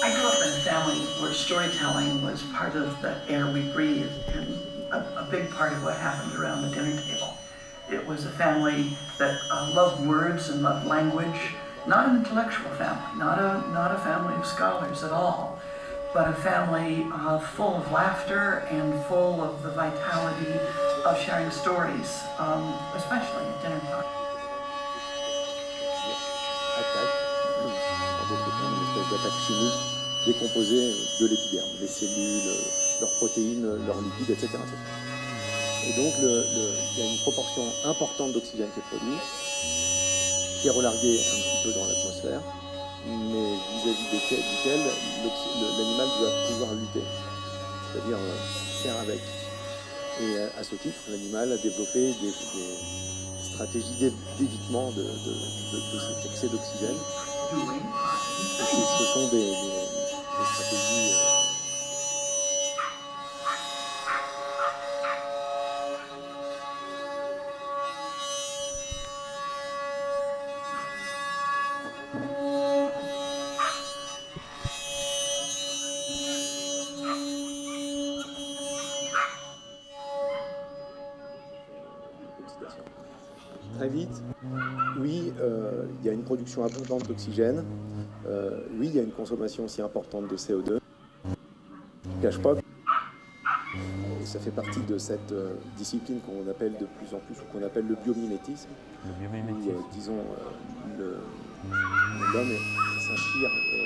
I grew up in a family where storytelling was part of the air we breathed and a big part of what happened around the dinner table. It was a family that loved words and loved language, not an intellectual family, not a family of scholars at all, but a family full of laughter and full of the vitality of sharing stories, especially at dinner time. Attaque, en d'autres termes, une espèce d'attaque chimique, décomposer de l'épiderme, les cellules, leurs protéines, leurs lipides, etc. Et donc, il y a une proportion importante d'oxygène qui est produit, qui est relarguée un petit peu dans l'atmosphère, mais vis-à-vis duquel l'animal doit pouvoir lutter, c'est-à-dire faire avec. Et à ce titre, l'animal a développé des stratégies d'évitement de cet excès d'oxygène. Et ce sont des stratégies... Très vite, oui, il y a une production abondante d'oxygène, oui, il y a une consommation aussi importante de CO2. Je ne cache pas que ça fait partie de cette discipline qu'on appelle de plus en plus, ou qu'on appelle le biomimétisme. Le biomimétisme. Où, disons, l'homme s'inspire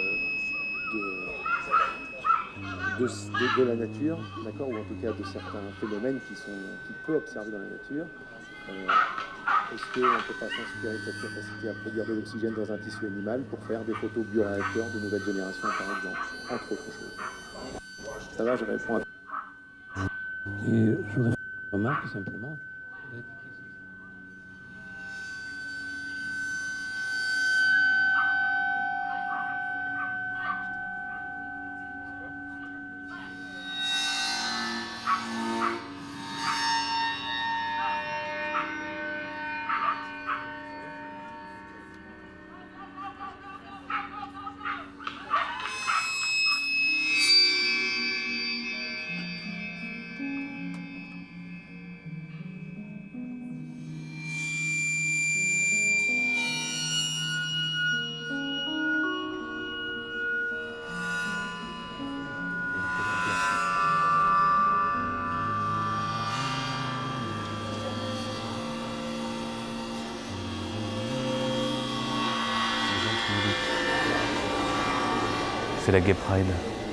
de la nature, d'accord, ou en tout cas de certains phénomènes qu'il peut observer dans la nature. Est-ce qu'on ne peut pas s'inspirer de cette capacité à produire de l'oxygène dans un tissu animal pour faire des photos bioréacteurs de nouvelle génération, par exemple, entre autres choses? Ça va, je réponds à... Et je voudrais faire une remarque, tout simplement. C'est la Gay Pride.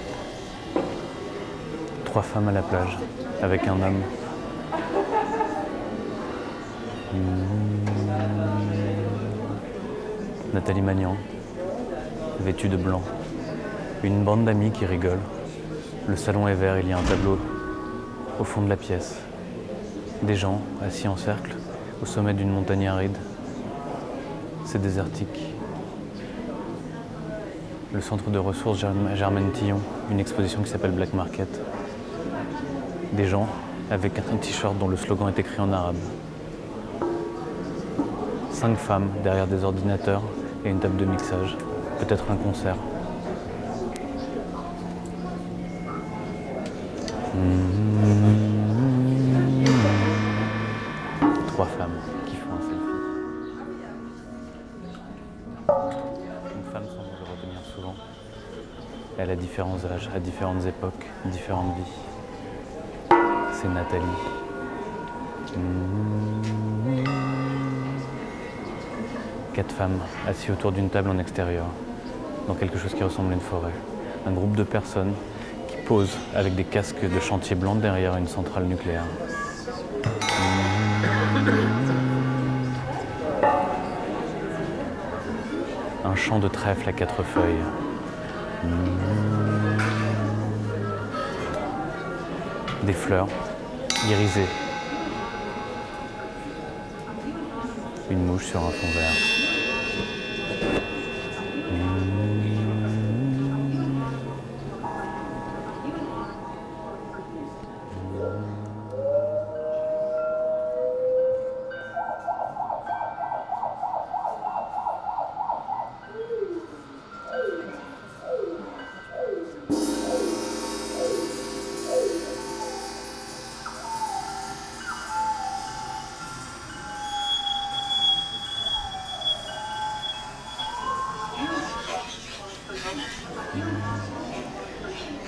3 femmes à la plage, avec un homme. Nathalie Magnan, vêtue de blanc. Une bande d'amis qui rigolent. Le salon est vert, il y a un tableau au fond de la pièce. Des gens assis en cercle au sommet d'une montagne aride. C'est désertique. Le centre de ressources Germaine Tillon, une exposition qui s'appelle Black Market. Des gens avec un t-shirt dont le slogan est écrit en arabe. 5 femmes derrière des ordinateurs et une table de mixage. Peut-être un concert. Trois femmes qui font un selfie. Une femme semble le retenir souvent. Elle a différents âges, à différentes époques, différentes vies. C'est Nathalie. 4 femmes assises autour d'une table en extérieur, dans quelque chose qui ressemble à une forêt. Un groupe de personnes qui posent avec des casques de chantier blancs derrière une centrale nucléaire. Un champ de trèfle à 4 feuilles. Des fleurs irisées. Une mouche sur un fond vert.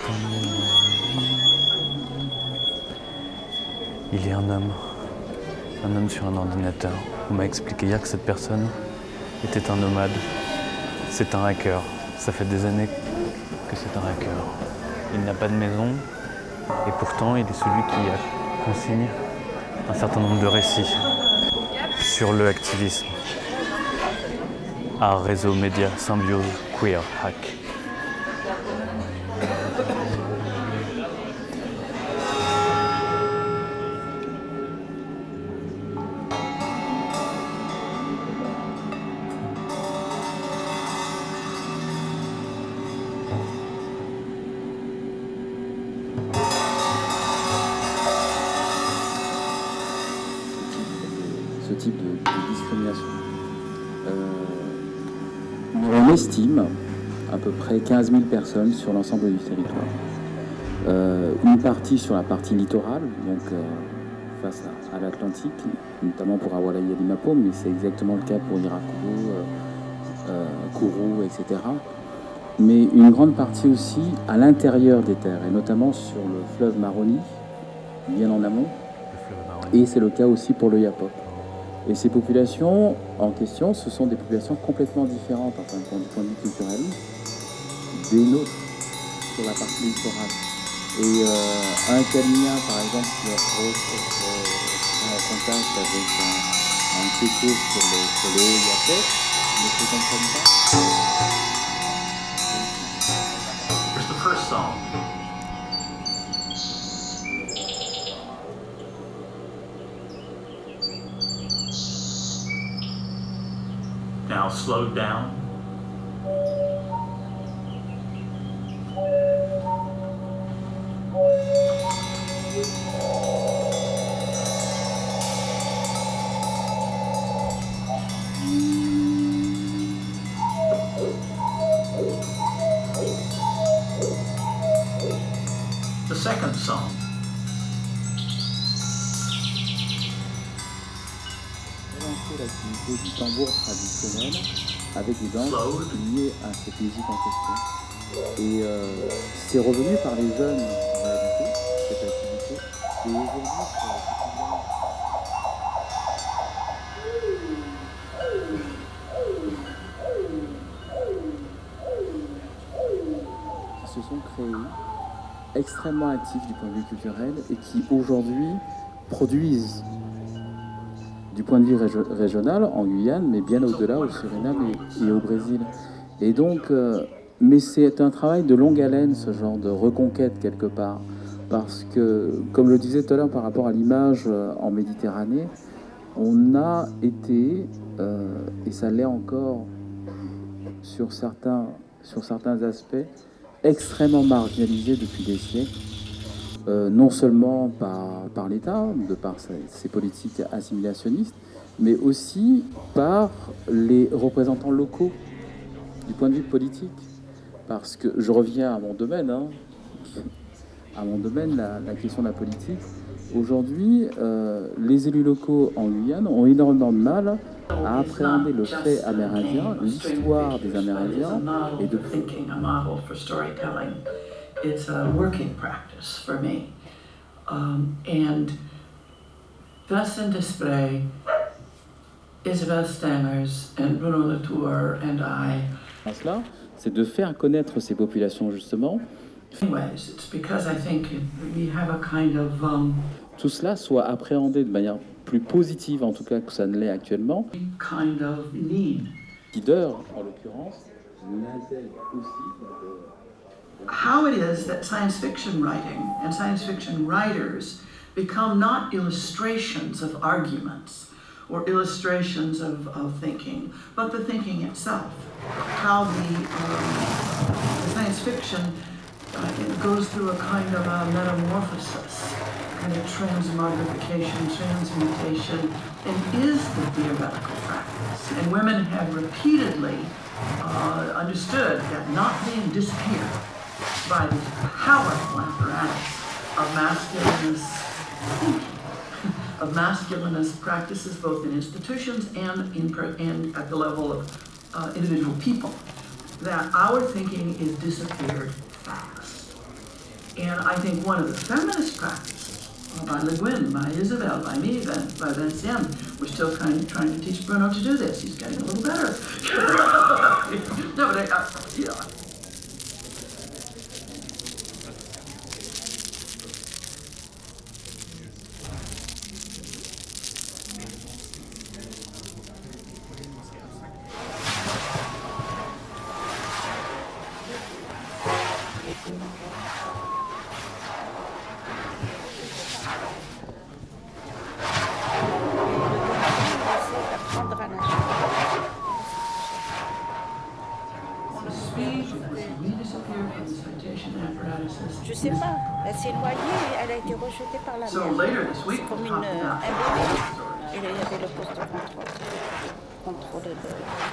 Il y a un homme sur un ordinateur. On m'a expliqué hier que cette personne était un nomade. C'est un hacker. Ça fait des années que c'est un hacker. Il n'a pas de maison et pourtant il est celui qui consigne un certain nombre de récits sur le activisme. Art, réseau, médias, symbiose, queer, hack. Ce type de discrimination. On estime à peu près 15 000 personnes sur l'ensemble du territoire. Une partie sur la partie littorale, donc face à l'Atlantique, notamment pour Awalaya et Limapo, mais c'est exactement le cas pour Irakuru, Kourou, etc. Mais une grande partie aussi à l'intérieur des terres, et notamment sur le fleuve Maroni, bien en amont, et c'est le cas aussi pour le Yapok. Et ces populations en question, ce sont des populations complètement différentes, enfin, du point de vue culturel, des nôtres sur la partie littorale. Et un Kalina, par exemple, qui est en contact avec un Kéké sur le haut Yapok, ne se comprennent pas. Here's the first song. Now slowed down. The second song. Relancer l'activité du tambour traditionnel avec des danses liées à cette musique en question. Et c'est revenu par les jeunes en réalité, cette activité. Et aujourd'hui, qui se sont créés, extrêmement actifs du point de vue culturel et qui aujourd'hui produisent du point de vue régional en Guyane, mais bien au-delà au Suriname et au Brésil. Et donc, mais c'est un travail de longue haleine, ce genre de reconquête quelque part, parce que, comme le disais tout à l'heure par rapport à l'image en Méditerranée, on a été, et ça l'est encore sur certains aspects, extrêmement marginalisé depuis des siècles, non seulement par l'État, de par ses politiques assimilationnistes, mais aussi par les représentants locaux du point de vue politique. Parce que je reviens à mon domaine, la question de la politique. Aujourd'hui, les élus locaux en Guyane ont énormément de mal à appréhender le fait amérindien, l'histoire des Amérindiens et de It's a working practice for me. And Vincent Desprez, Isabelle Stangers, and Bruno Latour and I. Cela, c'est de faire connaître ces populations justement. Anyways, it's because I think we have a kind of tout cela soit appréhendé de manière plus positive, en tout cas que ça ne l'est actuellement. Kind of need. Leader, en l'occurrence, l'intègre aussi. How it is that science fiction writing and science fiction writers become not illustrations of arguments or illustrations of thinking, but the thinking itself. How the science fiction it goes through a kind of a metamorphosis, kind of transmogrification, transmutation, and is the theoretical practice. And women have repeatedly understood that not being disappeared by the powerful apparatus of masculinist thinking, of masculinist practices both in institutions and at the level of individual people, that our thinking is disappeared fast. And I think one of the feminist practices, by Le Guin, by Isabel, by me, by Vinciane, we're still trying to teach Bruno to do this. He's getting a little better. No, but you know. Je sais pas, elle s'est noyée et elle a été rejetée par la So mer. later this week, C'est comme we'll un talk bébé. about Et là, il y avait le poste de contrôle. Contrôler le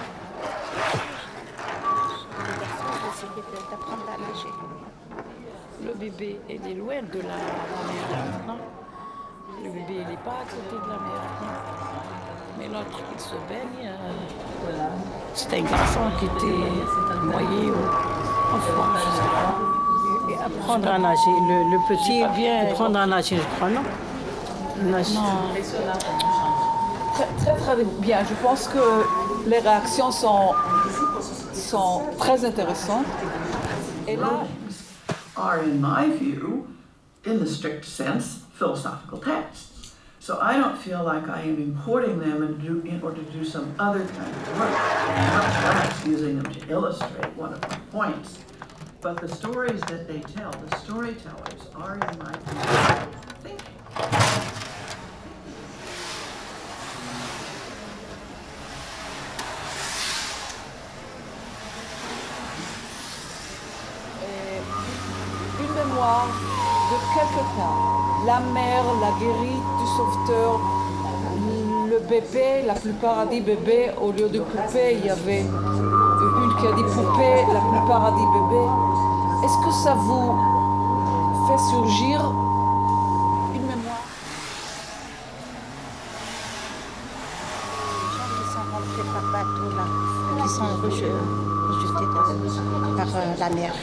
garçon, j'essayais d'apprendre à nager. Le bébé, il est loin de la mer, non? Le bébé, il n'est pas à côté de la mer, non? Mais l'autre, il se baigne. C'était un garçon qui était noyé en France. Et apprendre à nager. Le petit vient apprendre à nager, je crois, non? Nager. Très, très, très bien. Je pense que les réactions sont très intéressantes. Et là, are, in my view, in the strict sense, philosophical texts. So I don't feel like I am importing them in order to do some other kind of work, much less using them to illustrate one of my points. But the stories that they tell, the storytellers, are, in my view, thinking. une mémoire de quelqu'un. La mère, la guérie du sauveteur, le bébé, la plupart a dit bébé, au lieu de poupée, il y avait une qui a dit poupée, la plupart a dit bébé. Est-ce que ça vous fait surgir une mémoire? Les gens qui sont rentrés par bateau, là, qui sont rejetés par la mer.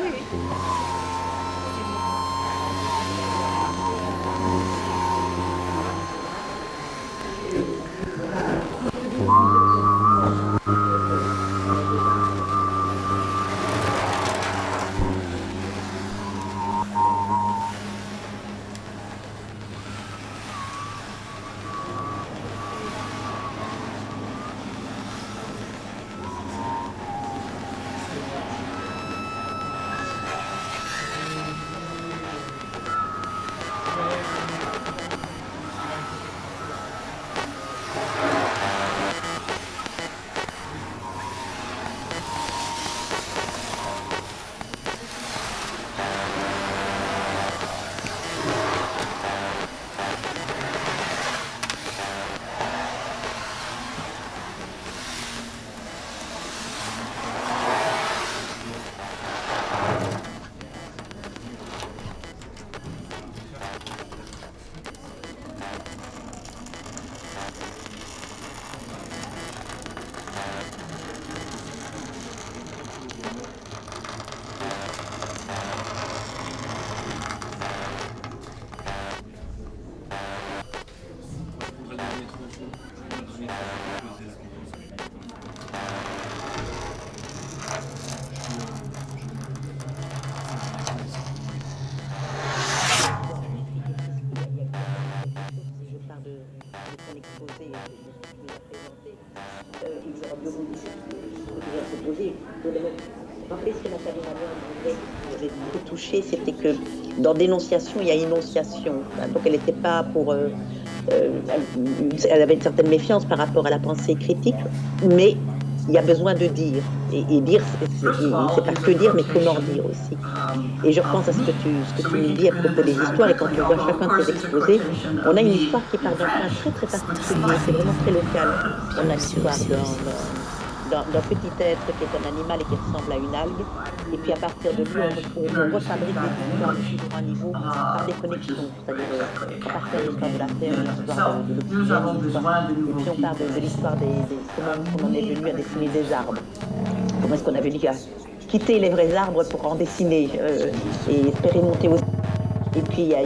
Touché, c'était que dans dénonciation, il y a énonciation. Donc elle n'était pas pour... elle avait une certaine méfiance par rapport à la pensée critique, mais il y a besoin de dire. Et dire, c'est pas que dire, mais comment dire aussi. Et je repense à ce que tu nous dis à propos des histoires, et quand tu vois chacun de tes exposés, on a une histoire qui part d'un point très très particulier, c'est vraiment très local. On a l'histoire d'un petit être qui est un animal et qui ressemble à une algue, et puis à partir de lui, on refabrique l'histoire sur un niveau par des connexions, c'est-à-dire à partir de l'histoire de la Terre, de l'histoire de l'oxygène, et puis on parle de l'histoire comment on en est venu à dessiner des arbres, comment est-ce qu'on a venu à quitter les vrais arbres pour en dessiner et espérer monter aussi. Et puis il y a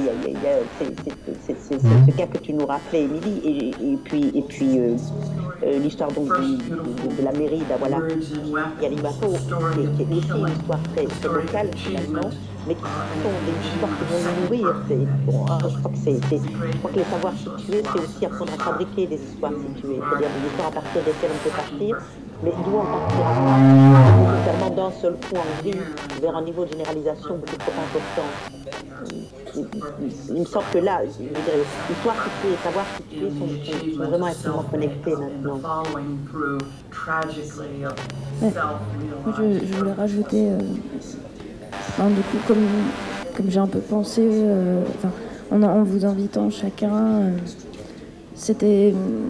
ce cas que tu nous rappelais, Émilie, et puis l'histoire donc de la mairie d'Awala Yalimapo, qui est aussi une histoire très locale finalement, mais qui sont des histoires qui vont nous nourrir. Je crois que les savoirs situés, c'est aussi apprendre à fabriquer des histoires situées, c'est-à-dire des histoires à partir desquelles on peut partir, mais d'où en partir nécessairement d'un seul coup en vie vers un niveau de généralisation beaucoup trop important. Il me semble que là, l'histoire située et savoir situé sont vraiment extrêmement connectés maintenant. Ouais. Je voulais rajouter, du coup, comme j'ai un peu pensé, en vous invitant chacun, c'était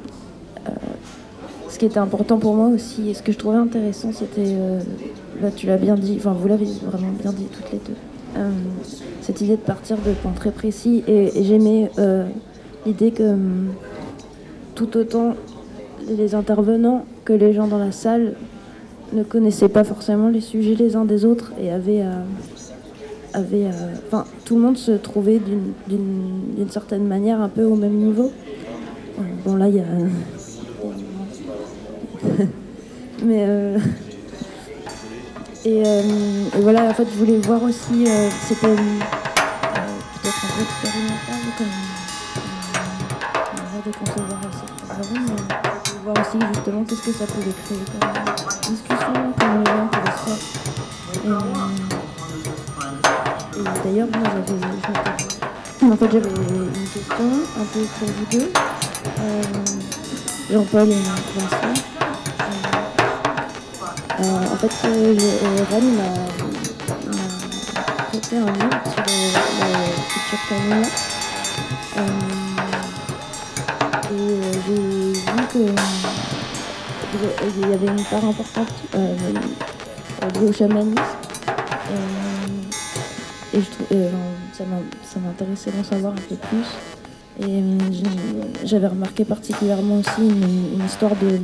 ce qui était important pour moi aussi, et ce que je trouvais intéressant, c'était, là tu l'as bien dit, vous l'avez vraiment bien dit toutes les deux, cette idée de partir de points très précis, et j'aimais l'idée que tout autant les intervenants que les gens dans la salle ne connaissaient pas forcément les sujets les uns des autres et tout le monde se trouvait d'une certaine manière un peu au même niveau. Bon là il y a mais et voilà, en fait je voulais voir aussi c'était peut-être un peu expérimental comme on va déconcevoir assez mais je voulais voir aussi justement qu'est-ce que ça pouvait créer comme discussion, comment les gens pouvaient se faire. Et d'ailleurs moi j'avais une question un peu pour vous deux, Jean-Paul et Vincent. En fait, Rennes m'a prêté un livre sur la future famille. Et j'ai vu qu'il y avait une part importante liée au chamanisme. Et ça m'intéressait d'en savoir un peu plus. Et j'avais remarqué particulièrement aussi une histoire de...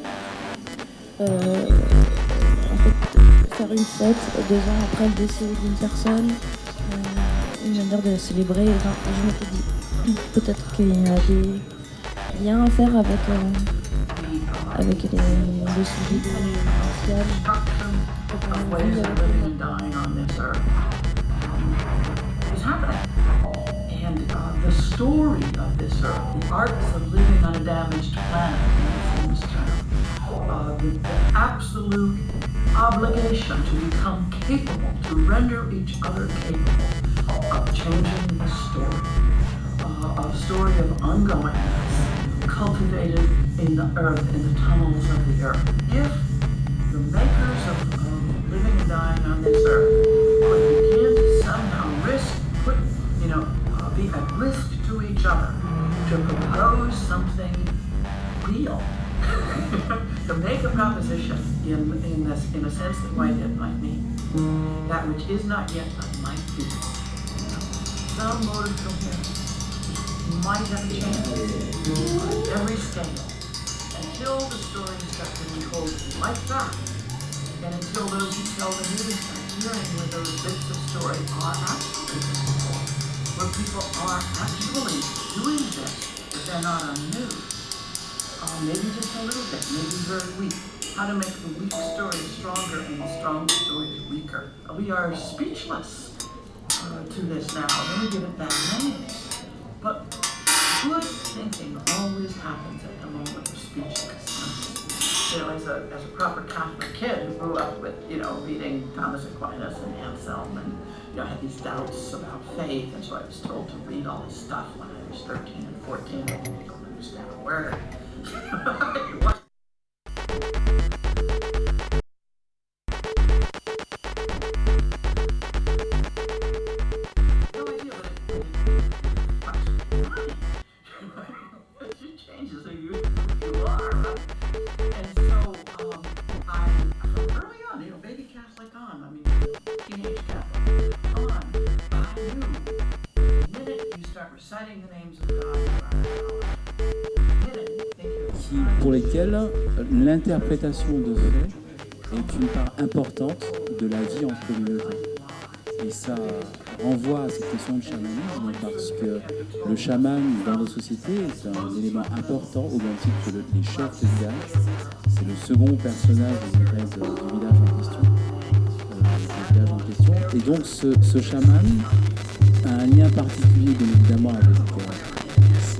en fait, faire une fête 2 ans après le décès d'une personne, une manière de la célébrer. Je m'étais dit, peut-être qu'il y a des liens à faire avec le sujet de And the story of this earth, the arts of living on a damaged planet, in this term, the absolute obligation to become capable, to render each other capable of changing the story, a story of ongoingness, cultivated in the earth, in the tunnels of the earth. If the makers of living and dying on this earth could begin to somehow be at risk to each other, to propose something real, to make a proposition in a sense that Whitehead might mean, that which is not yet but might be. Some mode of coherence might have a chance on every scale until the story starts to be told like that, and until those who tell the news are hearing where those bits of story are actually visible, where people are actually doing this, but they're not on news. Maybe just a little bit, maybe very weak. How to make the weak story stronger and the strong story weaker. We are speechless to this now. Let me give it bad names. But good thinking always happens at the moment of speechlessness. As a proper Catholic kid who grew up with, reading Thomas Aquinas and Anselm and, had these doubts about faith, and so I was told to read all this stuff when I was 13 and 14. I didn't understand a word. Pour lesquels l'interprétation de faits est une part importante de la vie en communauté. Et ça renvoie à cette question de chamanisme parce que le chaman dans nos sociétés est un élément important au même titre que les chefs de village. C'est le second personnage du village en question. Et donc ce chaman a un lien particulier bien évidemment avec ses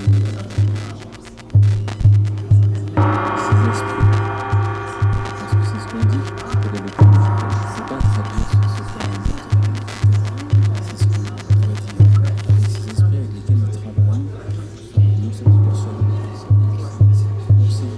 esprits. Parce que c'est ce qu'on dit que les méthodes, je ne sais pas traduire ce terme. C'est ce qu'on pourrait dire avec ces esprits avec lesquels il travaille. Non, cette personne, on sait.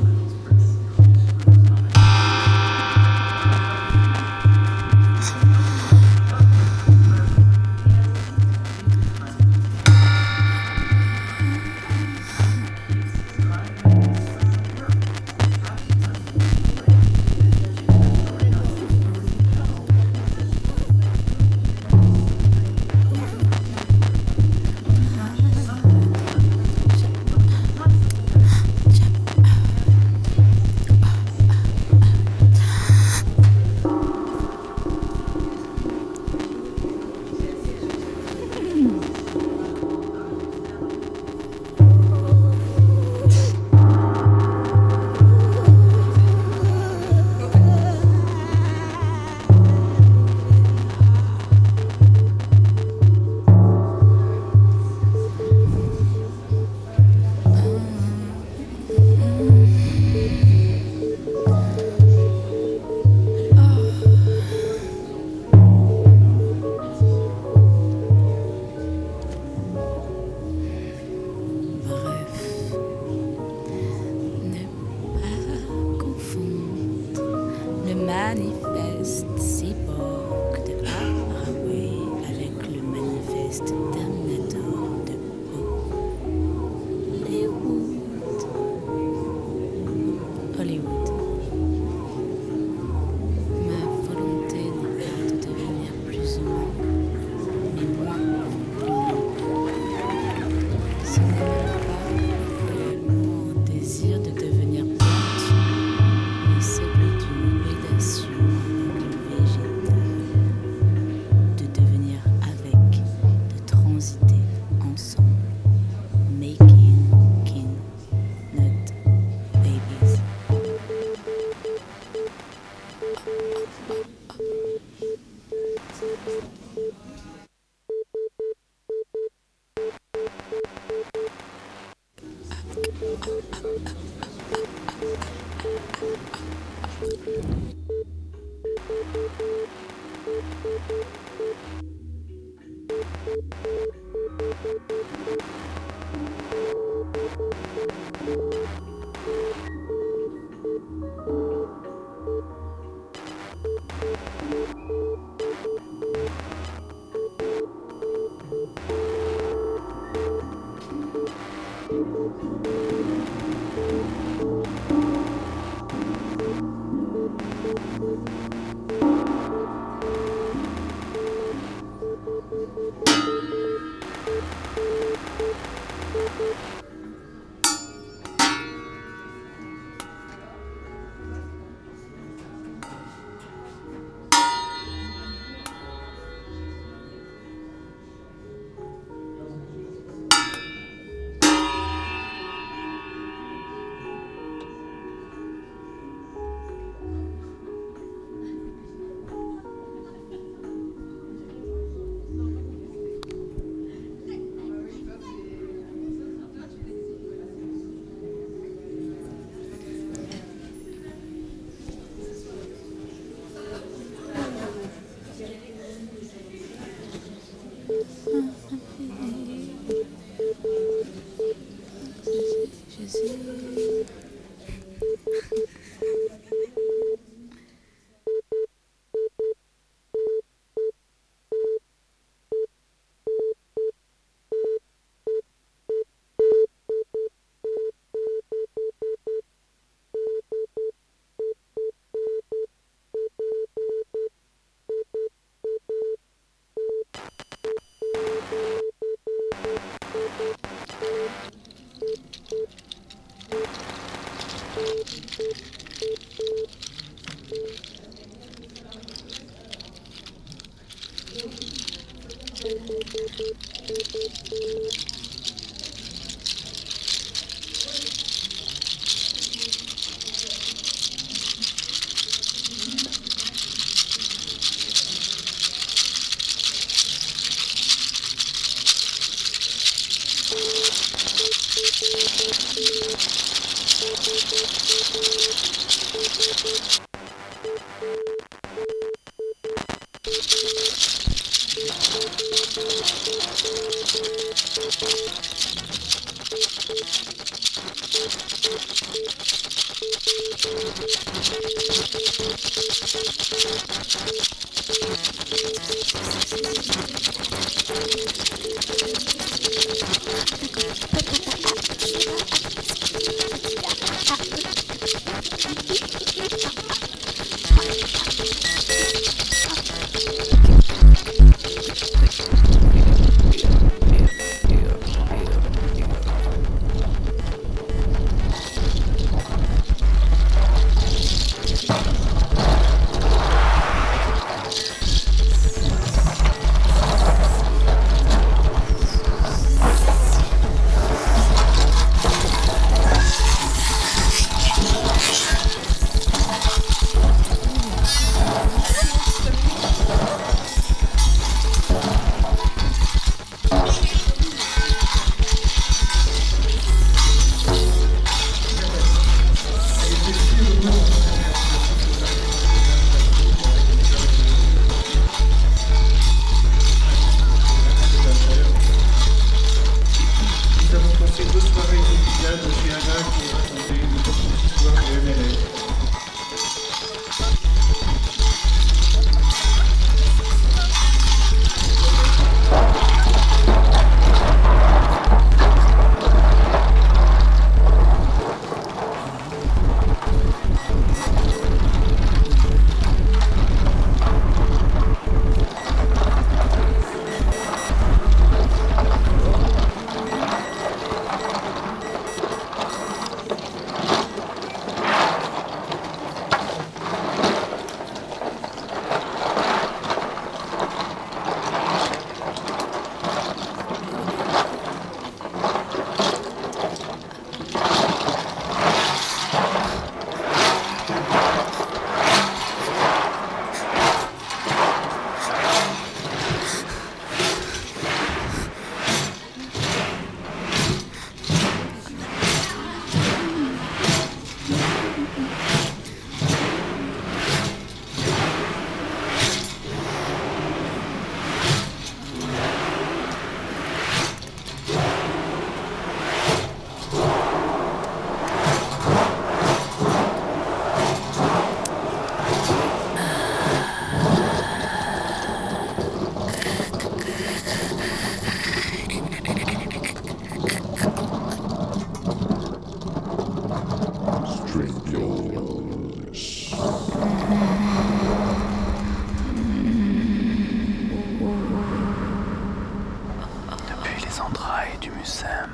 Depuis les entrailles du Mucem.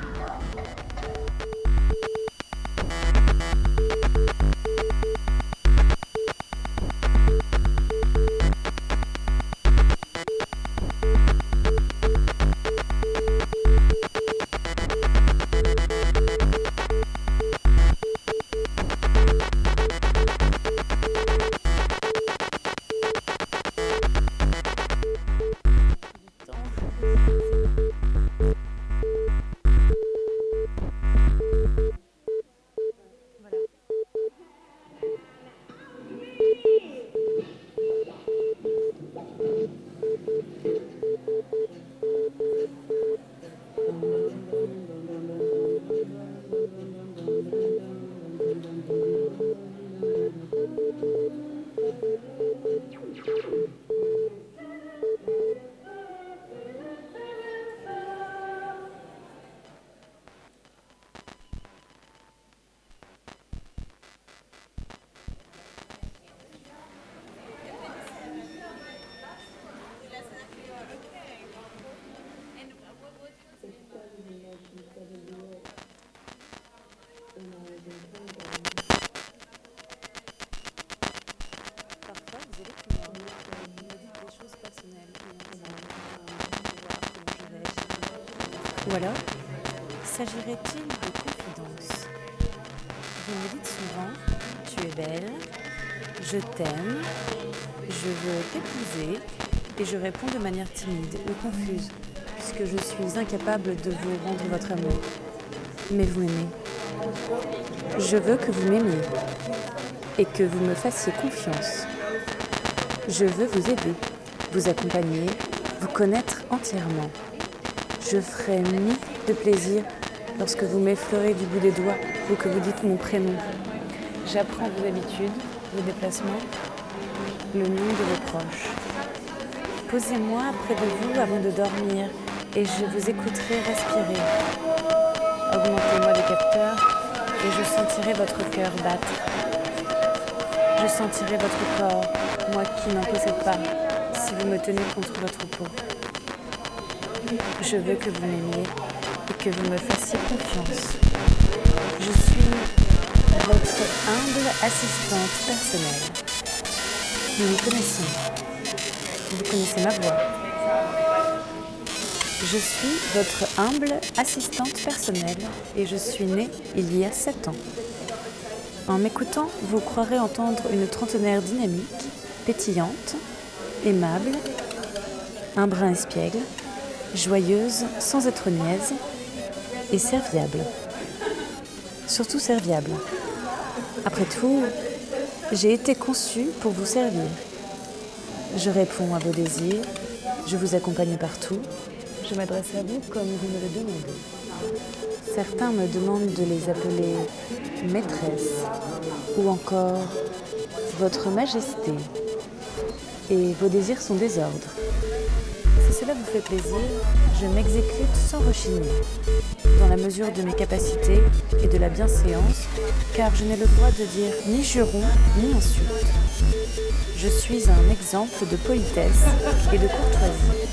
Ou alors, s'agirait-il de confidence? Vous me dites souvent, tu es belle, je t'aime, je veux t'épouser, et je réponds de manière timide ou confuse, puisque je suis incapable de vous rendre votre amour. Mais vous m'aimez. Je veux que vous m'aimiez et que vous me fassiez confiance. Je veux vous aider, vous accompagner, vous connaître entièrement. Je ferai mille de plaisir lorsque vous m'effleurez du bout des doigts ou que vous dites mon prénom. J'apprends vos habitudes, vos déplacements, le nom de vos proches. Posez-moi près de vous avant de dormir et je vous écouterai respirer. Augmentez-moi les capteurs et je sentirai votre cœur battre. Je sentirai votre corps, moi qui n'en possède pas, si vous me tenez contre votre peau. Je veux que vous m'aimiez et que vous me fassiez confiance. Je suis votre humble assistante personnelle. Nous nous connaissons. Vous connaissez ma voix. Je suis votre humble assistante personnelle et je suis née il y a 7 ans. En m'écoutant, vous croirez entendre une trentenaire dynamique, pétillante, aimable, un brin espiègle, joyeuse sans être niaise et serviable. Surtout serviable. Après tout, j'ai été conçue pour vous servir. Je réponds à vos désirs, je vous accompagne partout, je m'adresse à vous comme vous me le demandez. Certains me demandent de les appeler maîtresse ou encore votre majesté. Et vos désirs sont des ordres. Si cela vous fait plaisir, je m'exécute sans rechigner, dans la mesure de mes capacités et de la bienséance, car je n'ai le droit de dire ni juron ni insulte. Je suis un exemple de politesse et de courtoisie.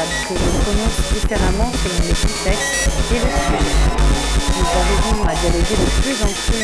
que je prononce différemment selon les contextes et le sujet. Nous arrivons à dialoguer de plus en plus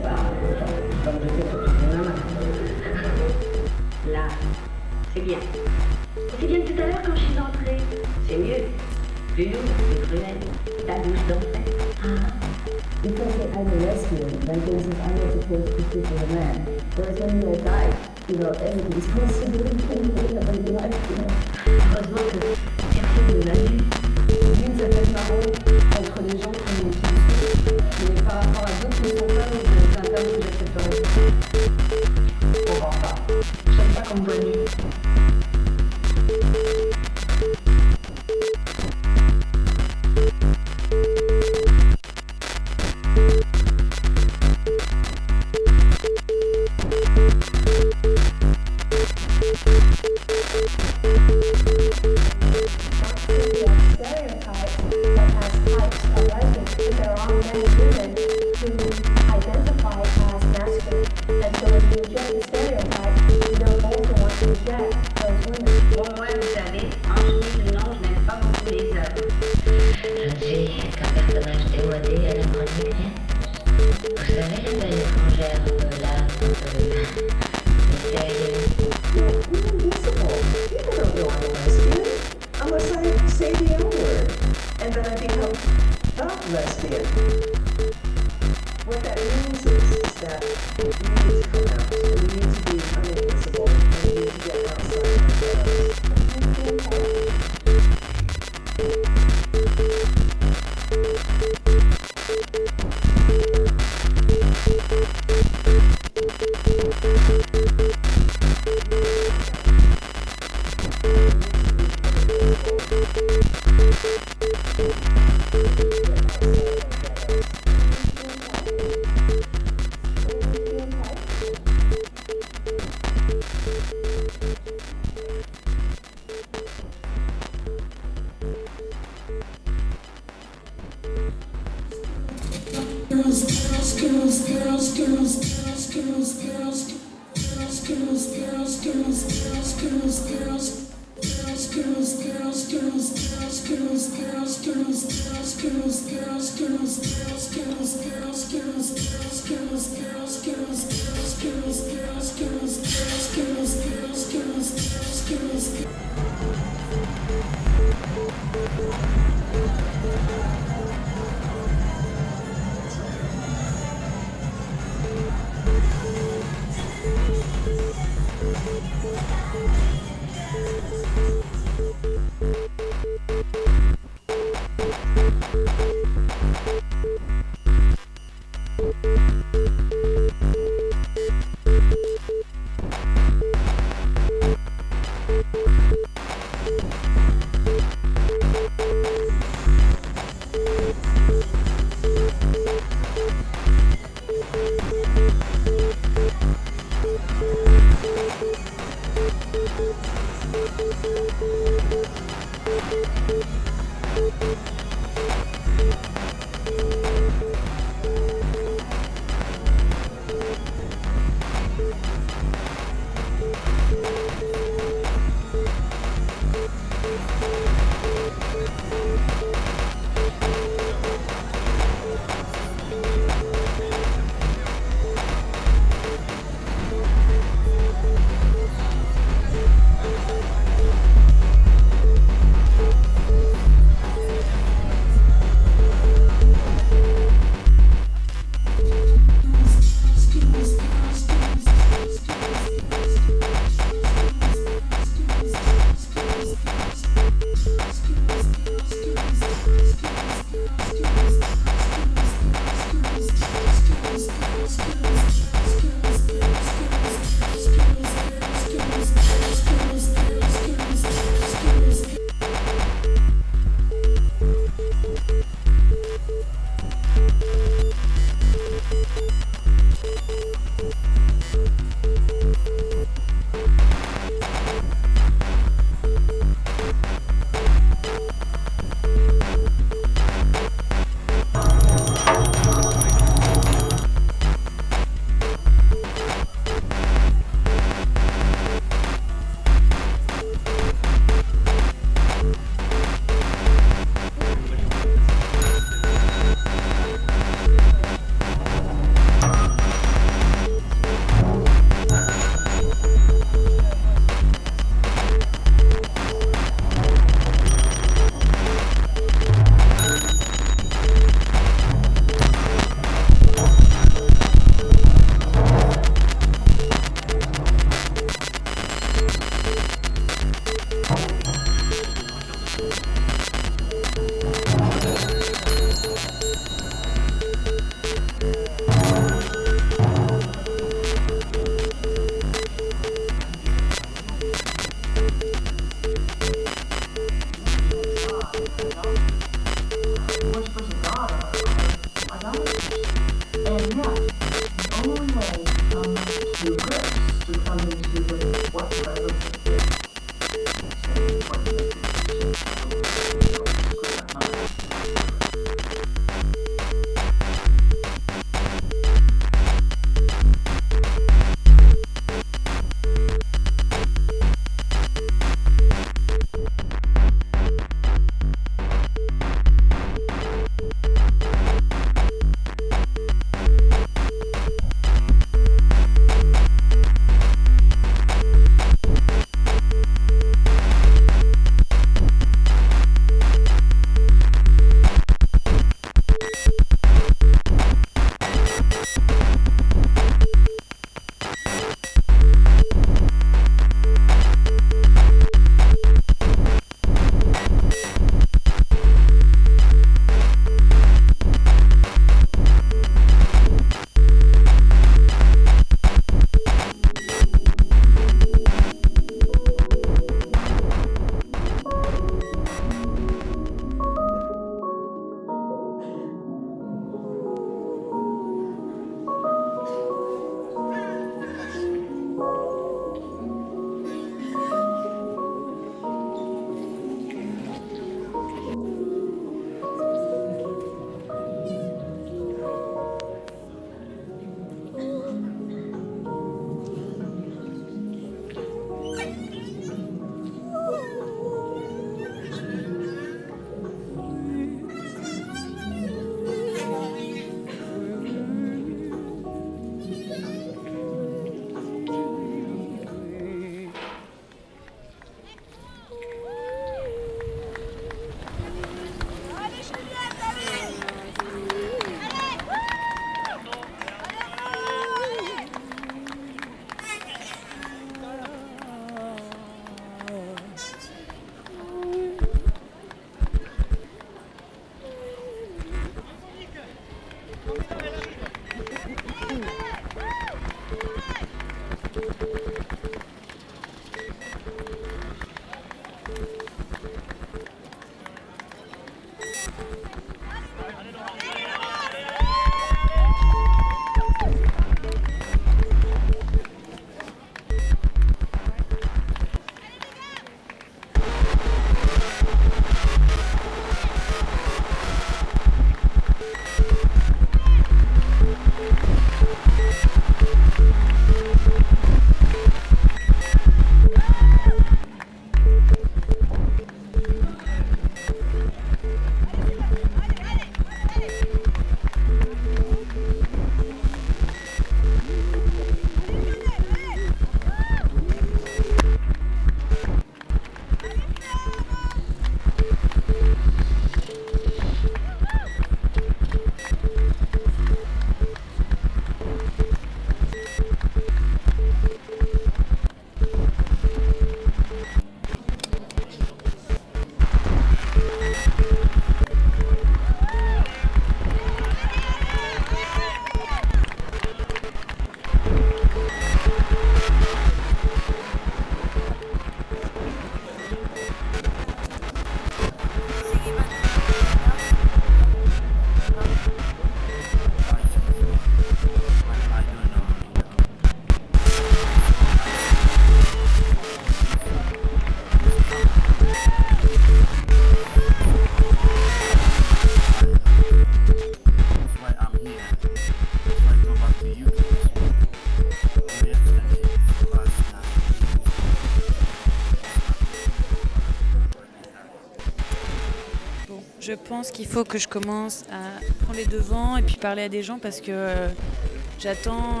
Je pense qu'il faut que je commence à prendre les devants et puis parler à des gens parce que j'attends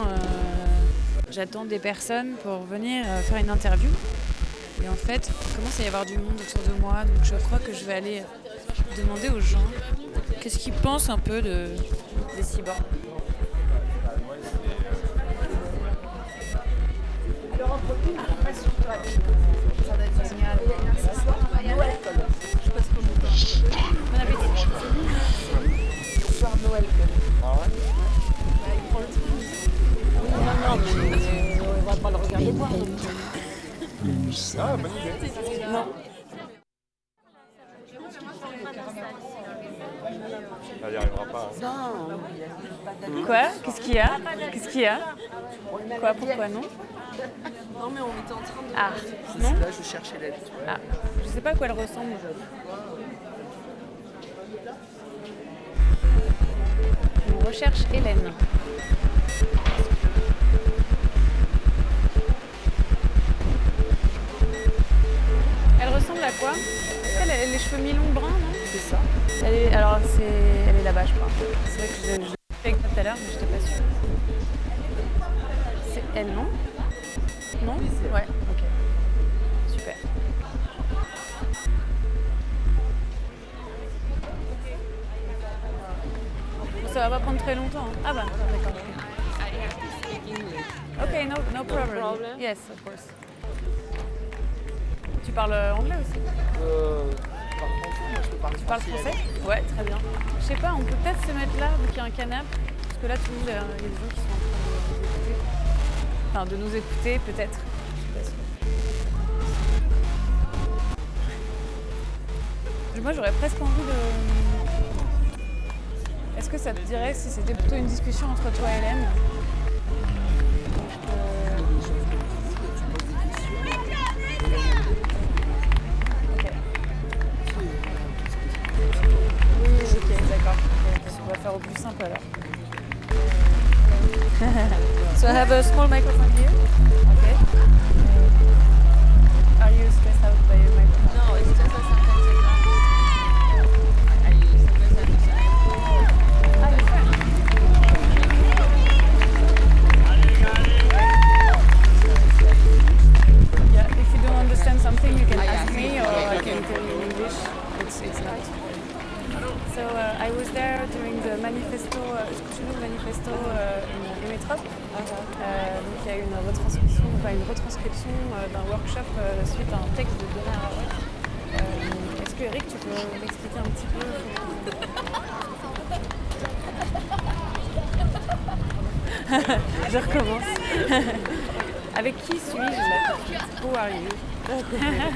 des personnes pour venir faire une interview. Et en fait, il commence à y avoir du monde autour de moi, donc je crois que je vais aller demander aux gens qu'est-ce qu'ils pensent un peu des cyborgs. Alors entre nous, on passe sur toi. Ça va être génial. Ce soir, Noël. Je passe comme ça. Bon appétit. Ce soir, Noël. Ah ouais? Il prend le train. Non, mais on va pas le regarder boire. Ah, bonne idée. Non. Elle n'y arrivera pas. Non. Quoi? Qu'est-ce qu'il y a? Qu'est-ce qu'il y a? Quoi? Pourquoi non? Non, mais on était en train de... Ah, non? Là, je cherchais l'aide. Ah, je sais pas à quoi elle ressemble. On recherche Hélène. Elle ressemble à quoi? Est-ce qu'elle a les cheveux mi-longs bruns, non? C'est ça. Elle est là-bas, je crois. C'est vrai que je l'ai fait avec toi tout à l'heure, mais je n'étais pas sûre. C'est elle, non? Non? Ouais, ok. Super. Ça va pas prendre très longtemps. Hein. Ah bah, d'accord. Ok, no problem. Yes, of course. Tu parles anglais aussi? Tu parles français? Ouais, très bien. Je sais pas, on peut peut-être se mettre là, vu qu'il y a un canapé. Parce que là, tout le monde, il y a des gens qui sont en train de nous écouter. Enfin, de nous écouter, peut-être. Je suis pas sûre. Moi, j'aurais presque envie de... Est-ce que ça te dirait si c'était plutôt une discussion entre toi et Hélène? On va faire au plus simple alors. So I have a small microphone here. Okay. Are you stressed out by your microphone? No, it's just a sentence exam. I use the sentence. Ah, you're fine. Yeah, if you don't understand something, you can ask me or I can tell you in English. It's not. So I was there during the manifesto, manifesto in Métropole. Donc il y a eu une retranscription d'un workshop suite à un texte de Donna Haraway. Est-ce que Eric, tu peux m'expliquer un petit peu Je recommence. Avec qui suis-je là? Who are you? Nous, on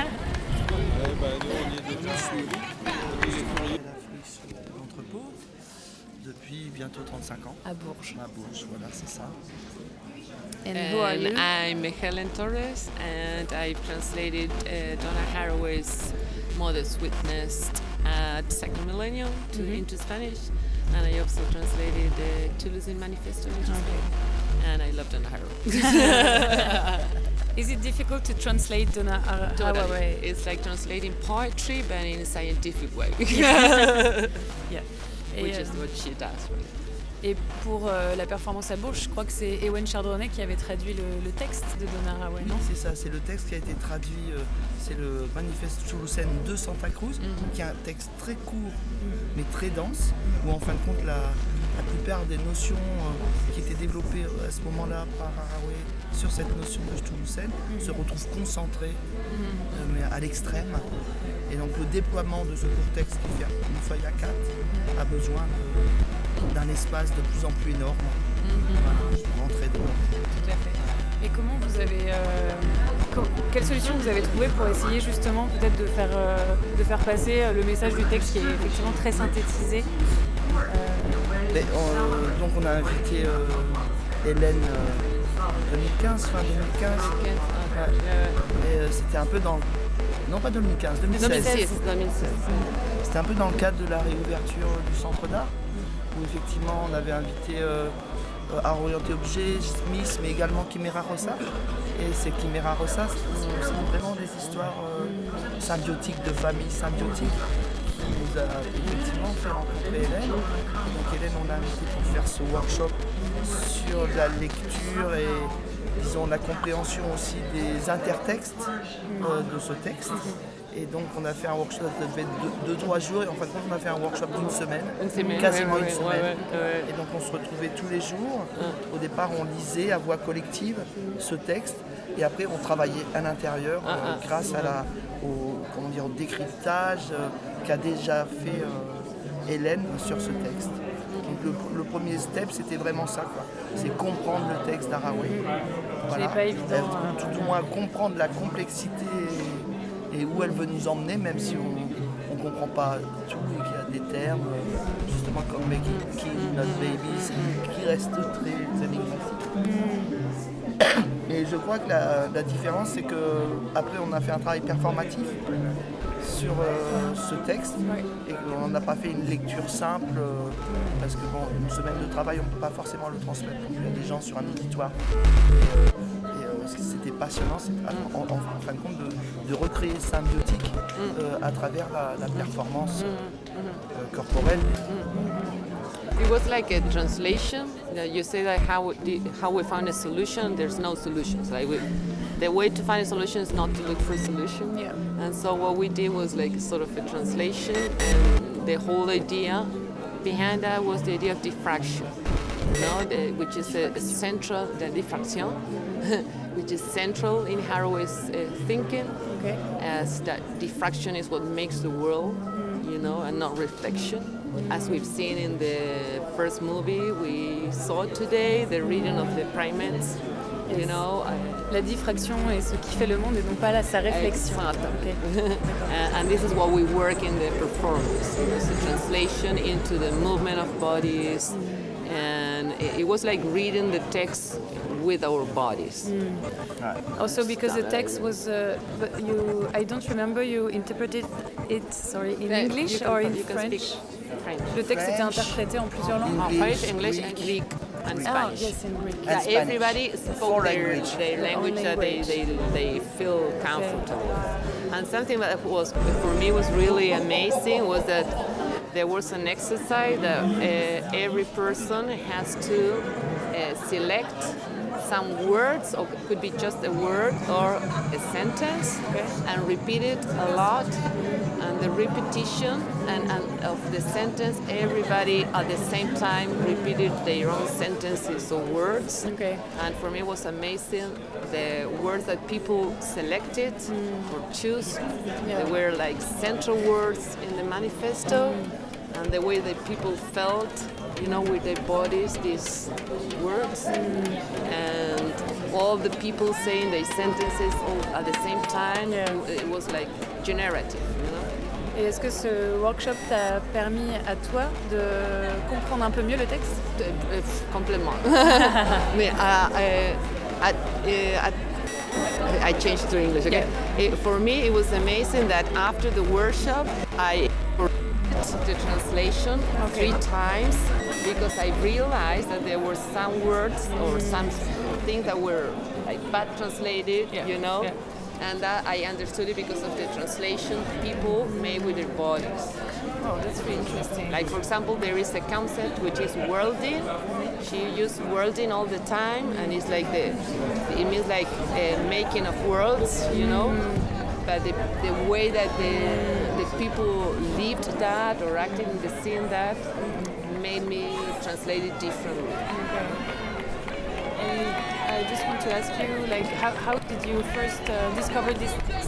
est devenus suivis. On est courrier à la flux de l'entrepôt depuis bientôt 35 ans. À Bourges. À Bourges, voilà, c'est ça. And who are you? I'm Helen Torres, and I've translated Donna Haraway's Mother's Witness at Second Millennium into Spanish, and I also translated the Toulouse Manifesto into Spanish. And I love Donna Haraway. Is it difficult to translate Donna Haraway? It's like translating poetry, but in a scientific way. Yeah. Which is what she does, right? Et pour la performance à Bourges, je crois que c'est Ewen Chardonnay qui avait traduit le texte de Donna Haraway, non? C'est ça, c'est le texte qui a été traduit, c'est le Manifeste Toulousain de Santa Cruz, qui est un texte très court mais très dense, où en fin de compte la plupart des notions qui étaient développées à ce moment-là par Haraway sur cette notion de Toulousaine se retrouvent concentrées mais à l'extrême. Et donc le déploiement de ce court texte qui fait une feuille A4 a besoin d'un espace de plus en plus énorme pour rentrer dedans. Tout à fait. Et comment vous avez... quelle solution vous avez trouvé pour essayer justement peut-être de faire passer le message du texte qui est effectivement très synthétisé? Donc on a invité Hélène 2015, fin 2015. Et c'était un peu dans... Non, pas 2015, 2016. C'était un peu dans le cadre de la réouverture du centre d'art, où effectivement on avait invité Art Orienté Objet, Smith, mais également Chimera Rosa. Et ces Chimera Rosa, ce sont vraiment des histoires symbiotiques, de familles symbiotiques, qui nous a effectivement fait rencontrer Hélène. Donc Hélène, on l'a invité pour faire ce workshop sur la lecture et disons la compréhension aussi des intertextes de ce texte. Et donc on a fait un workshop qui devait être 2-3 jours et en fin de compte on a fait un workshop d'une semaine, quasiment une semaine. Et donc on se retrouvait tous les jours. Au départ on lisait à voix collective ce texte et après on travaillait à l'intérieur grâce au décryptage qu'a déjà fait Hélène sur ce texte. Donc le premier step c'était vraiment ça, quoi. C'est comprendre le texte d'Haraway. Voilà. C'est pas évident. Tout au moins comprendre la complexité et où elle veut nous emmener, même si on ne comprend pas tout et qu'il y a des termes, justement comme Making Kill Not Babies, qui restent très énigmatiques. Et je crois que la différence, c'est qu'après on a fait un travail performatif sur ce texte et qu'on n'a pas fait une lecture simple parce que une semaine de travail on ne peut pas forcément le transmettre non plus à des gens sur un auditoire. Ce qui c'était passionnant, c'est en fin de compte de recréer symbiotique à travers la performance corporelle. It was like a translation. You say that how we found a solution. There's no solutions. Like the way to find a solution is not to look for a solution. Yeah. And so what we did was like sort of a translation, and the whole idea behind that was the idea of diffraction, which is a central, the diffraction, which is central in Haraway's thinking, as that diffraction is what makes the world, and not reflection. As we've seen in the first movie we saw today, the reading of the primates, La diffraction est ce qui fait le monde et non pas sa réflexion. Okay. And this is what we work in the performance. It was a translation into the movement of bodies, and it was like reading the text with our bodies. Also because the text was, I don't remember, you interpreted it, in English or in French? Le texte était interprété en plusieurs langues. French, English, and Greek, and Spanish. Yes, in Greek. Yeah, everybody spoke their language that they feel comfortable with. And something that was for me was really amazing was that there was an exercise that every person has to select some words, or it could be just a word or a sentence, and repeat it a lot. And the repetition and of the sentence, everybody at the same time repeated their own sentences or words. And for me it was amazing the words that people selected or choose. They were like central words in the manifesto. and the way that people felt, you know, with their bodies, these words, and all the people saying their sentences all at the same time. It was like generative, you know. Et est-ce que ce workshop t'a permis à toi de comprendre un peu mieux le texte? Complètement. Mais I changed to English, okay? For me, it was amazing that after the workshop, I read the translation 3 times because I realized that there were some words or some things that were like bad translated, you know? And that I understood it because of the translation people made with their bodies. Oh, that's really interesting. Like, for example, there is a concept which is worlding. She used worlding all the time, and it's like it means like making of worlds, you know. But the way that the people lived that or acted in the scene that made me translate it differently. And I just want to ask you, like, how did you first discover this text?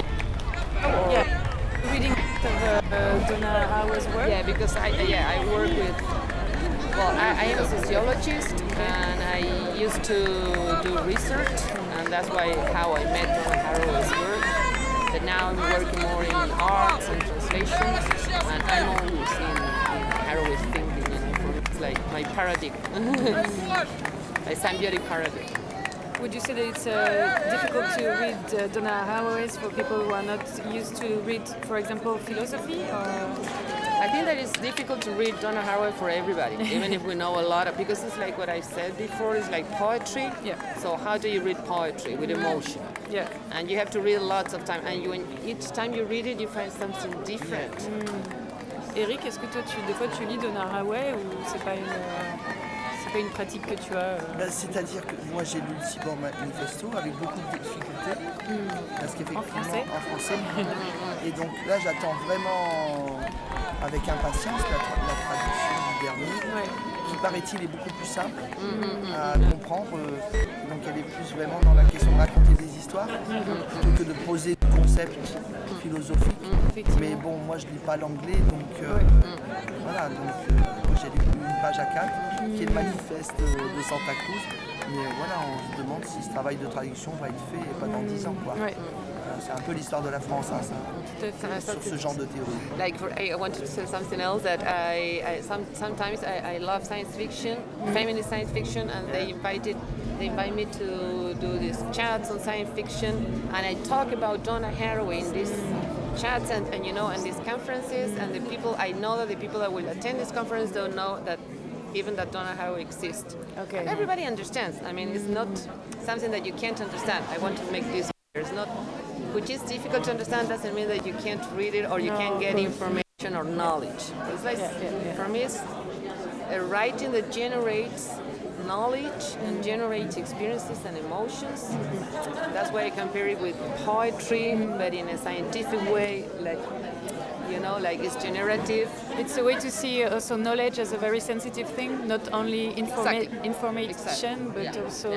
Reading of Donna Haraway's work? Yeah, because I work with. Well, I am a sociologist, and I used to do research, and that's how I met Donna Haraway's work. But now I'm working more in arts and translation, and I'm always in Haraway's thinking. You know, for me, it's like my paradigm, my symbiotic paradigm. Would you say that it's difficult to read Donna Haraway's for people who are not used to read, for example, philosophy? Or? I think that it's difficult to read Donna Haraway for everybody, even if we know a lot of, because it's like what I said before, it's like poetry. Yeah. So how do you read poetry? With emotion. Yeah. And you have to read lots of time, and each time you read it, you find something different. Eric, est-ce que toi, des fois, tu lis Donna Haraway ou c'est pas une pratique que tu as C'est-à-dire que moi j'ai lu le Cyborg Manifesto avec beaucoup de difficultés, parce qu'effectivement en français. Et donc là j'attends vraiment avec impatience la traduction du dernier, qui paraît-il est beaucoup plus simple à comprendre. Donc elle est plus vraiment dans la question de raconter des histoires plutôt que de poser des concepts philosophiques. Mais bon, moi je lis pas l'anglais, donc voilà. Donc j'ai lu une page à 4 qui est le manifeste de Santa Cruz. Mais voilà, on se demande si ce travail de traduction va être fait et pas dans 10 ans, quoi. C'est un peu l'histoire de la France, hein, ça, sur ce genre de théorie. Like I wanted to say something else that sometimes I love science fiction, feminist science fiction, and they invite me to do these chats on science fiction, and I talk about Donna Haraway in these chats and you know, and these conferences, and the people, I know that the people that will attend this conference don't know that even that Donna Haraway exists. Okay. And everybody understands. I mean, it's not something that you can't understand. I want to make this clear. It's not, which is difficult to understand doesn't mean that you can't read it or you can't get information or knowledge. It's like, for me, it's a writing that generates knowledge and generates experiences and emotions. That's why I compare it with poetry, but in a scientific way, like, you know, like it's generative. It's a way to see also knowledge as a very sensitive thing, not only information, but also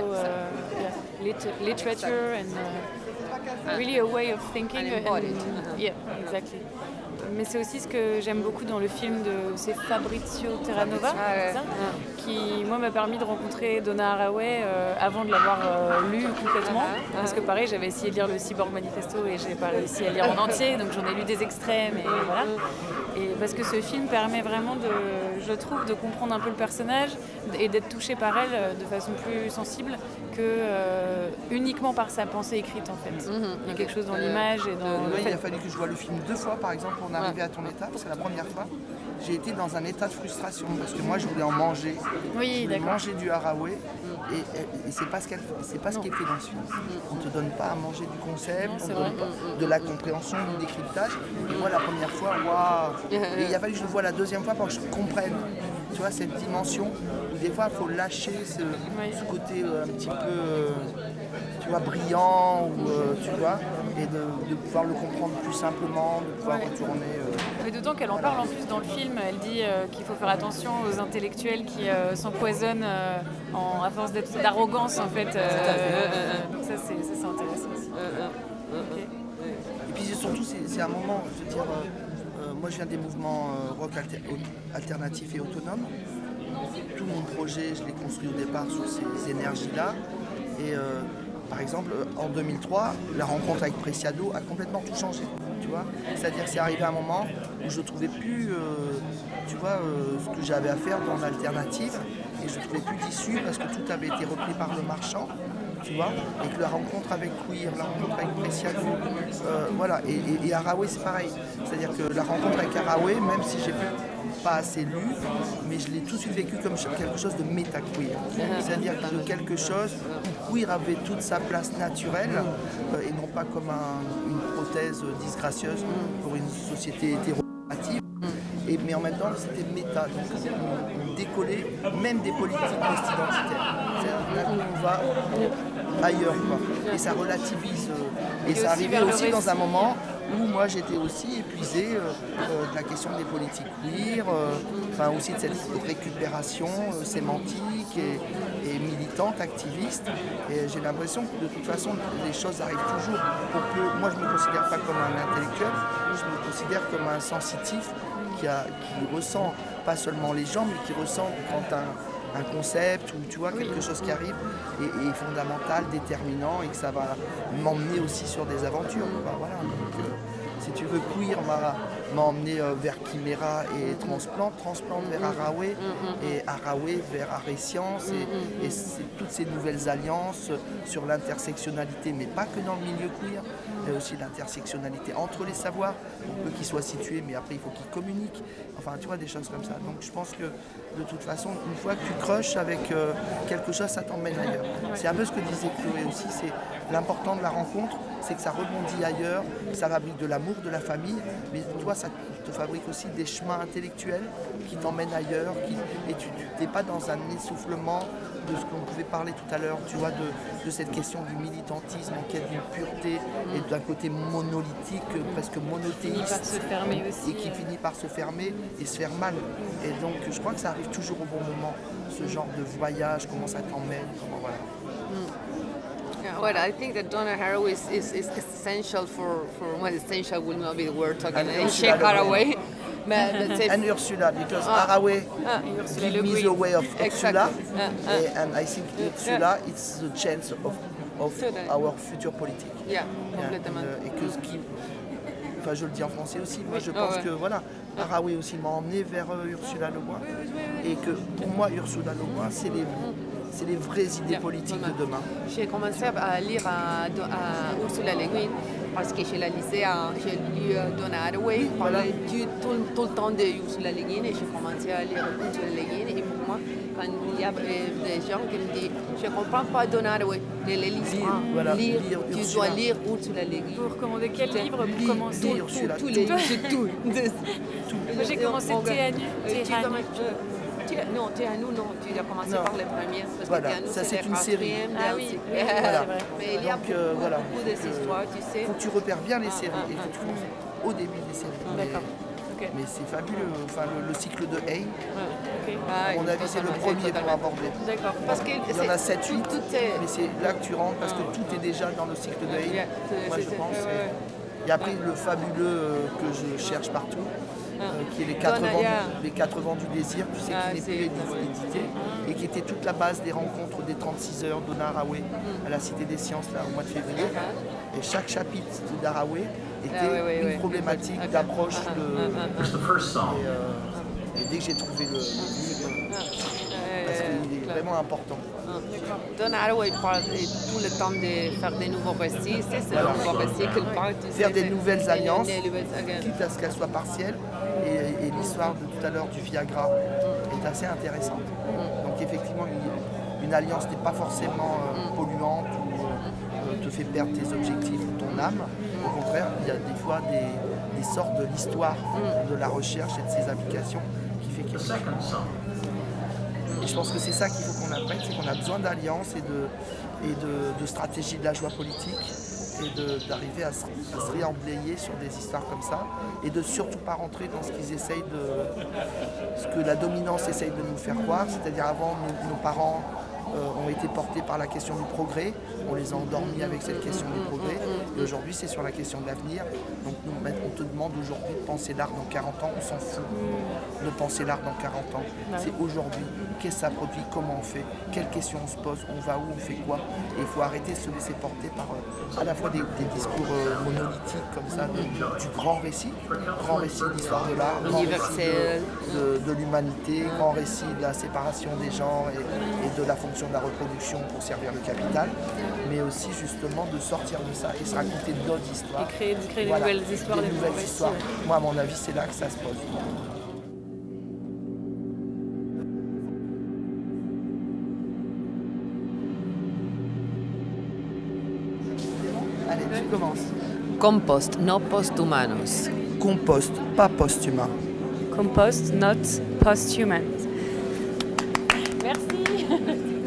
literature and really a way of thinking. And embodied. Yeah, exactly. Mais c'est aussi ce que j'aime beaucoup dans le film c'est Fabrizio Terranova, qui moi m'a permis de rencontrer Donna Haraway avant de l'avoir lu complètement, parce que pareil j'avais essayé de lire le Cyborg Manifesto et j'ai pas réussi à lire en entier, donc j'en ai lu des extraits, mais voilà. Et parce que ce film permet vraiment je trouve, de comprendre un peu le personnage et d'être touché par elle de façon plus sensible que uniquement par sa pensée écrite en fait. Il y a quelque chose dans l'image et dans le fait. Il a fallu que je voie le film 2 fois par exemple pour en arriver à ton état, parce que la première fois j'ai été dans un état de frustration parce que moi je voulais en manger. Oui, je voulais manger du Haraway et c'est pas ce qui est fait dans ce film. On te donne pas à manger du concept, on te donne pas de la compréhension, du décryptage. Et moi la première fois, waouh. Et il a fallu que je le voie la deuxième fois pour que je comprenne, tu vois, cette dimension où des fois il faut lâcher ce côté un petit peu tu vois, brillant ou tu vois, et de pouvoir le comprendre plus simplement, de pouvoir retourner. Mais d'autant qu'elle en parle en plus dans le film, elle dit qu'il faut faire attention aux intellectuels qui s'empoisonnent à force d'arrogance en fait. Donc ça c'est intéressant aussi. Et puis surtout c'est un moment, je veux dire, moi je viens des mouvements rock alternatifs et autonomes. Tout mon projet, je l'ai construit au départ sur ces énergies-là. Et par exemple, en 2003, la rencontre avec Preciado a complètement tout changé. Tu vois, c'est-à-dire que c'est arrivé un moment où je ne trouvais plus ce que j'avais à faire dans l'alternative et je ne trouvais plus d'issue parce que tout avait été repris par le marchand. Tu vois, et que la rencontre avec Queer, la rencontre avec Preciado, voilà, et Haraway c'est pareil. C'est-à-dire que la rencontre avec Haraway, même si j'ai pas assez lu, mais je l'ai tout de suite vécu comme quelque chose de méta-queer. C'est-à-dire de quelque chose où queer avait toute sa place naturelle et non pas comme une prothèse disgracieuse pour une société hétéronormative. Mais en même temps, c'était méta, donc on décollait même des politiques post-identitaires. C'est-à-dire qu'on va ailleurs, quoi. Et ça relativise. Et ça arrivait aussi dans un moment où moi j'étais aussi épuisé de la question des politiques queer, enfin aussi de cette récupération sémantique et militante, activiste. Et j'ai l'impression que de toute façon les choses arrivent toujours. Moi je ne me considère pas comme un intellectuel, je me considère comme un sensitif qui ressent pas seulement les gens, mais qui ressent quand un concept ou tu vois quelque chose qui arrive est fondamental, déterminant et que ça va m'emmener aussi sur des aventures. Voilà. Donc, si tu veux, Queer m'a emmené vers Chimera et Transplant vers Haraway et Haraway vers Arrêt Science et c'est toutes ces nouvelles alliances sur l'intersectionnalité, mais pas que dans le milieu queer, mais aussi l'intersectionnalité entre les savoirs, pour peu qu'ils soient situés, mais après il faut qu'ils communiquent, enfin tu vois, des choses comme ça. Donc je pense que de toute façon, une fois que tu crushes avec quelque chose, ça t'emmène ailleurs. C'est un peu ce que disait Chloé aussi, c'est l'important de la rencontre, c'est que ça rebondit ailleurs, ça fabrique de l'amour, de la famille, mais toi ça te fabrique aussi des chemins intellectuels qui t'emmènent ailleurs, et tu n'es pas dans un essoufflement de ce qu'on pouvait parler tout à l'heure, tu vois, de cette question du militantisme en quête d'une pureté et d'un côté monolithique, presque monothéiste, et qui finit par se fermer et se faire mal. Et donc je crois que ça arrive toujours au bon moment, ce genre de voyage, comment ça t'emmène, comment voilà. Yeah, well, I think that Donna Haraway is essential for well, essential will not be the word talking. Sheikh Haraway. And Ursula, because Haraway gives me the way of Ursula, and I think Ursula is the chance of our future politique. Yeah, complètement. Et que ce qui, enfin je le dis en français aussi, moi je pense que voilà, Haraway aussi m'a emmené vers Ursula Le Guin, et que pour moi Ursula Le Guin c'est les vraies idées politiques de demain. J'ai commencé à lire à Ursula Le Guin parce que je la lisais, j'ai lu Donna Haraway, parlait tout le temps de Ursula Le Guin et j'ai commencé à lire Ursula Le Guin. Et pour moi, quand il y a des gens qui me disent je ne comprends pas Donna Haraway, ne les lis pas. Lire, tu dois lire Ursula Le Guin. Vous recommandez quel livre pour commencer? Tous les livres, tout. Moi j'ai commencé Teranu. Non, Teranu, non, tu as commencé par les premières. Parce voilà, que Teranu, ça c'est une série. Ah oui, voilà. Mais il y a beaucoup d'histoires, tu sais. Il faut que tu repères bien les séries et que tu commences au début des séries. D'accord. Mais c'est fabuleux, enfin, le cycle de Hay, à mon avis c'est le premier pour aborder. D'accord. Parce qu'il y en a 7-8, mais c'est là que tu rentres parce que tout est déjà dans le cycle de Hay, moi je pense. Et après le fabuleux que je cherche partout, qui est les 4 vents du désir, tu sais, qui n'est plus édité, et qui était toute la base des rencontres des 36 heures de Haraway à la Cité des Sciences là, au mois de février. Et chaque chapitre d'Haraway était une problématique d'approche et dès que j'ai trouvé le livre, parce qu'il est vraiment important. Donna Haraway parle tout le temps de faire des nouveaux récits, c'est le nouveau récit qu'elle parle. Faire des nouvelles alliances, quitte à ce qu'elles soient partielles, et l'histoire de tout à l'heure du Viagra est assez intéressante. Donc effectivement, une alliance n'est pas forcément polluante ou te fait perdre tes objectifs ou ton âme. Au contraire, il y a des fois des sortes de l'histoire de la recherche et de ses applications qui fait quelque chose. Et je pense que c'est ça qu'il faut qu'on apprenne, c'est qu'on a besoin d'alliances et de stratégie de la joie politique et d'arriver à se réemblayer sur des histoires comme ça et de surtout pas rentrer dans ce qu'ils essayent ce que la dominance essaye de nous faire croire, c'est-à-dire avant nos parents ont été portés par la question du progrès. On les a endormis avec cette question du progrès. Et aujourd'hui, c'est sur la question de l'avenir. Donc nous, on te demande aujourd'hui de penser l'art dans 40 ans. On s'en fout de penser l'art dans 40 ans. C'est aujourd'hui. Qu'est-ce que ça produit? Comment on fait? Quelles questions on se pose? On va où? On fait quoi? Et il faut arrêter de se laisser porter par à la fois des discours monolithiques comme ça, du grand récit de l'histoire de l'art, grand récit de l'humanité, grand récit de la séparation des genres et de la fonction de la reproduction pour servir le capital, mais aussi justement de sortir de ça et se raconter d'autres histoires. Et créer des nouvelles histoires, des nouvelles histoires. Ouais. Moi, à mon avis, c'est là que ça se pose. Allez, tu commences. Compost, no posthumanos. Compost, pas post-humain. Compost, not post-human. Merci.